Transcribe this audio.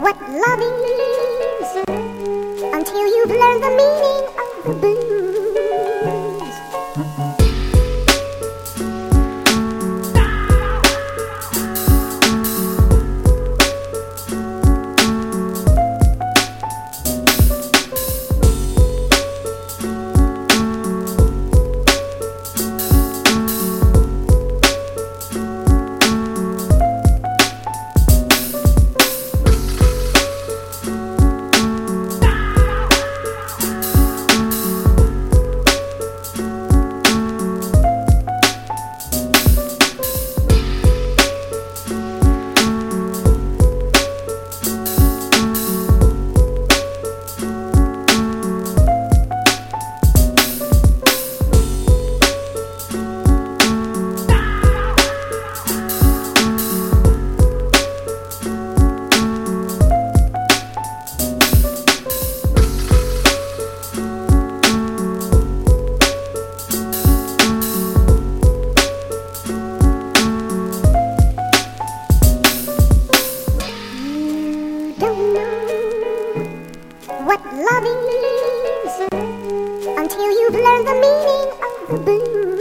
what love is until you've learned the meaning of the blues. Don't know what love is until you've learned the meaning of the blues.